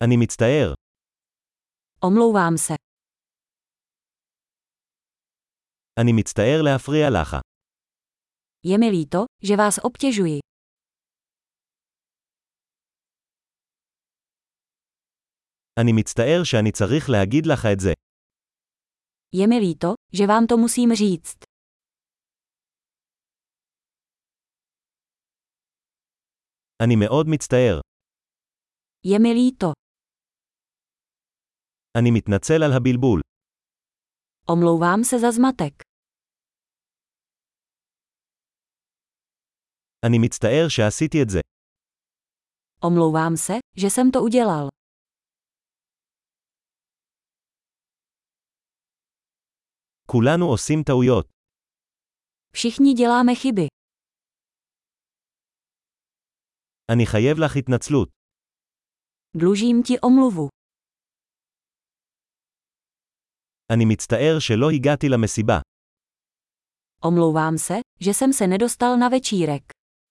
אני מצטער. Omlouvám se. אני מצטער להפריע לך. Je mi líto, že vás obtěžuji. אני מצטער שאני צריך להגיד לך את זה. Je mi líto, že vám to musím říct. אני מאוד מצטער. Je mi líto. אני מתנצל על הבלבול. Omlouvám se za zmatek. אני מצטער שעשיתי את זה. Omlouvám se, že jsem to udělal. כולנו עושים טעויות. Všichni děláme chyby. אני חייב לך התנצלות. Dlužím ti omluvu. אני מצטער שלא הגעתי למסיבה. Omlouvám se, že jsem se nedostal na večírek.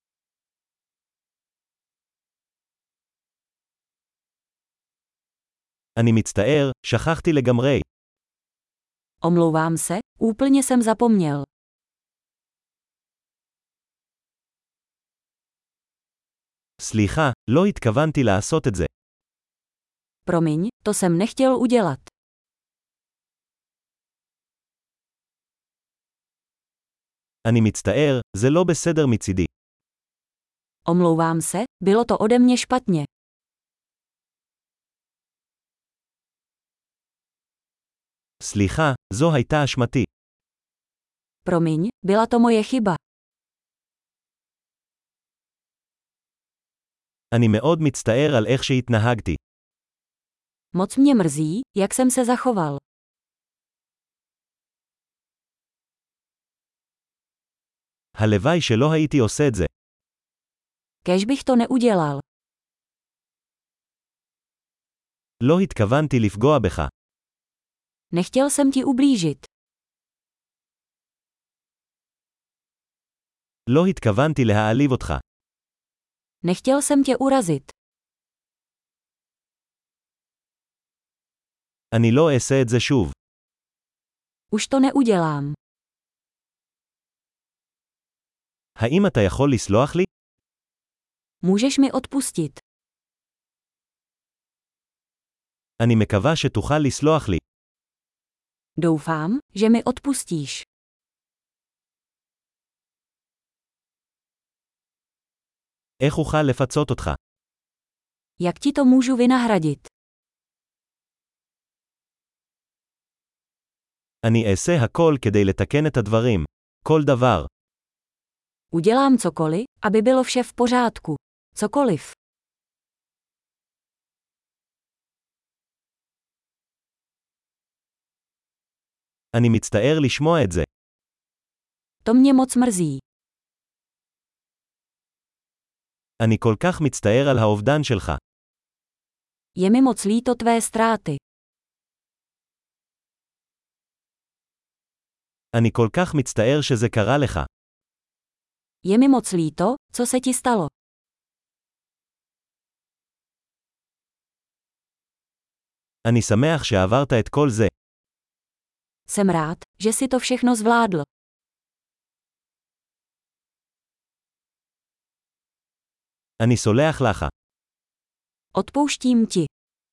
אני מצטער, שכחתי לגמרי. Omlouvám se, úplně jsem zapomněl. סליחה, לא התכוונתי לעשות את זה. Promiň, to jsem nechtěl udělat. אני מצטער, זה לא בסדר מצידי. Omlouvám se, bylo to ode mě špatně. סליחה, זו הייתה אשמתי. Promiň, byla to moje chyba. אני מאוד מצטער על איך שהתנהגתי. Moc mě mrzí, jak jsem se zachoval. הלוואי שלא הייתי עושה את זה. Kéž bych to neudělal. לא התכוונתי לפגוע בך. Nechtěl jsem ti ublížit. לא התכוונתי להעליב אותך. Nechtěl jsem tě urazit. אני לא אעשה את זה שוב. Už to neudělám. האם אתה יכול לסלוח לי? Můžeš mi odpustit. אני מקווה שתוכל לסלוח לי. Doufám, že mi odpustíš. איך אוכל לפצות אותך? Jak ti to můžu vynahradit? אני אעשה הכל כדי לתקן את הדברים. כל דבר. Udělám cokoliv, aby bylo vše v pořádku. Cokoliv. אני מצטער לשמוע את זה. To mě moc mrzí. אני כל כך מצטער על האובדן שלך. Je mi moc líto tvé ztráty. אני כל כך מצטער שזה קרה לך. Je mi moc líto, co se ti stalo. אני שמח שעברת את כל זה. Jsem rád, že si to všechno zvládl. אני סולח לך. Odpouštím ti.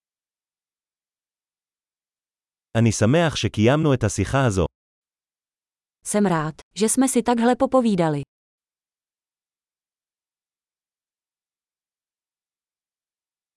אני שמח שקיימנו את השיחה הזו. Jsem rád, že jsme si takhle popovídali.